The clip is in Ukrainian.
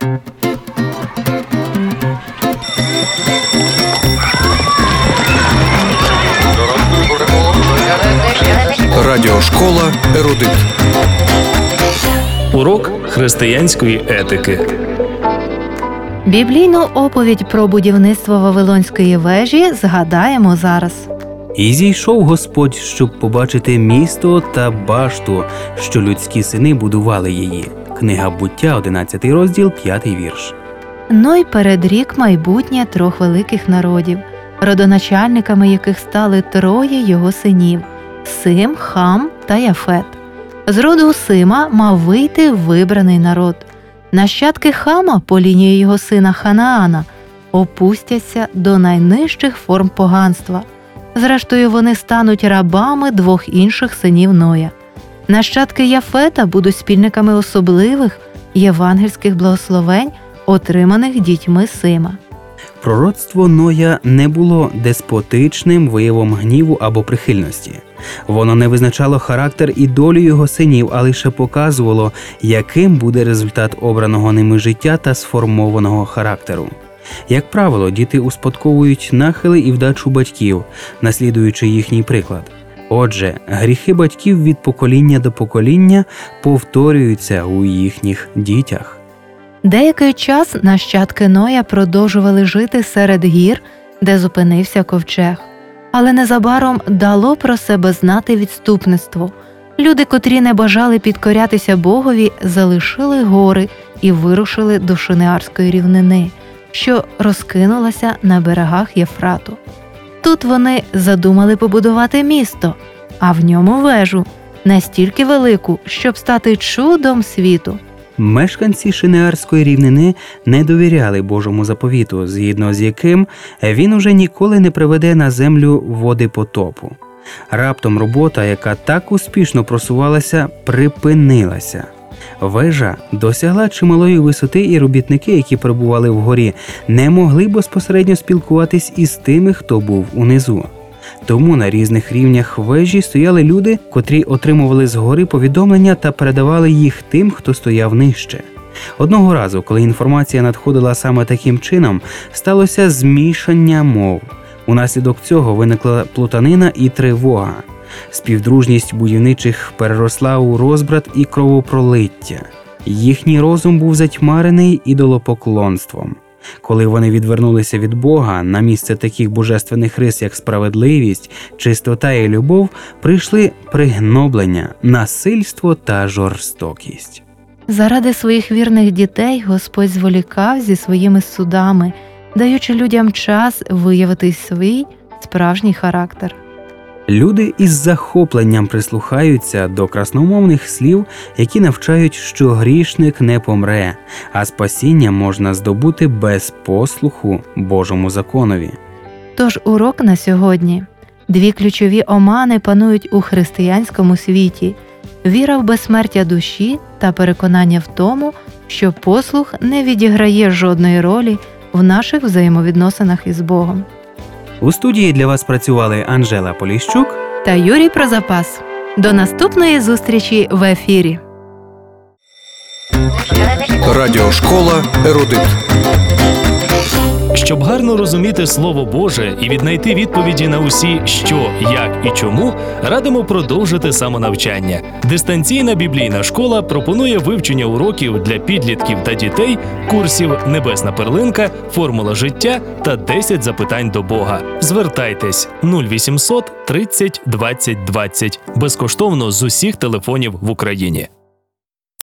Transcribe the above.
Радіошкола «Ерудит». Урок християнської етики. Біблійну оповідь про будівництво Вавилонської вежі згадаємо зараз. «І зійшов Господь, щоб побачити місто та башту, що людські сини будували її». Книга Буття, 11 розділ, 5 вірш. Ной передрік майбутнє 3 великих народів, родоначальниками яких стали 3 його синів – Сим, Хам та Яфет. З роду Сима мав вийти вибраний народ. Нащадки Хама по лінії його сина Ханаана опустяться до найнижчих форм поганства. Зрештою, вони стануть рабами 2 інших синів Ноя. Нащадки Яфета будуть спільниками особливих євангельських благословень, отриманих дітьми Сима. Пророцтво Ноя не було деспотичним виявом гніву або прихильності. Воно не визначало характер і долю його синів, а лише показувало, яким буде результат обраного ними життя та сформованого характеру. Як правило, діти успадковують нахили і вдачу батьків, наслідуючи їхній приклад. Отже, гріхи батьків від покоління до покоління повторюються у їхніх дітях. Деякий час нащадки Ноя продовжували жити серед гір, де зупинився ковчег. Але незабаром дало про себе знати відступництво. Люди, котрі не бажали підкорятися Богові, залишили гори і вирушили до Шинеарської рівнини, що розкинулася на берегах Єфрату. Тут вони задумали побудувати місто, а в ньому вежу, настільки велику, щоб стати чудом світу. Мешканці Шинеарської рівнини не довіряли Божому заповіту, згідно з яким він уже ніколи не приведе на землю води потопу. Раптом робота, яка так успішно просувалася, припинилася. Вежа досягла чималої висоти, і робітники, які перебували вгорі, не могли безпосередньо спілкуватись із тими, хто був унизу. Тому на різних рівнях вежі стояли люди, котрі отримували згори повідомлення та передавали їх тим, хто стояв нижче. Одного разу, коли інформація надходила саме таким чином, сталося змішання мов. Унаслідок цього виникла плутанина і тривога. Співдружність будівничих переросла у розбрат і кровопролиття. Їхній розум був затьмарений ідолопоклонством. Коли вони відвернулися від Бога, на місце таких божественних рис, як справедливість, чистота і любов, прийшли пригноблення, насильство та жорстокість. Заради своїх вірних дітей Господь зволікав зі своїми судами, даючи людям час виявити свій справжній характер. Люди із захопленням прислухаються до красномовних слів, які навчають, що грішник не помре, а спасіння можна здобути без послуху Божому законові. Тож урок на сьогодні. 2 ключові омани панують у християнському світі – віра в безсмертя душі та переконання в тому, що послух не відіграє жодної ролі в наших взаємовідносинах із Богом. У студії для вас працювали Анжела Поліщук та Юрій Прозапас. До наступної зустрічі в ефірі. Радіошкола «Ерудит». Щоб гарно розуміти Слово Боже і віднайти відповіді на усі «що», «як» і «чому», радимо продовжити самонавчання. Дистанційна біблійна школа пропонує вивчення уроків для підлітків та дітей, курсів «Небесна перлинка», «Формула життя» та 10 запитань до Бога. Звертайтесь 0800 30 20 20 безкоштовно з усіх телефонів в Україні.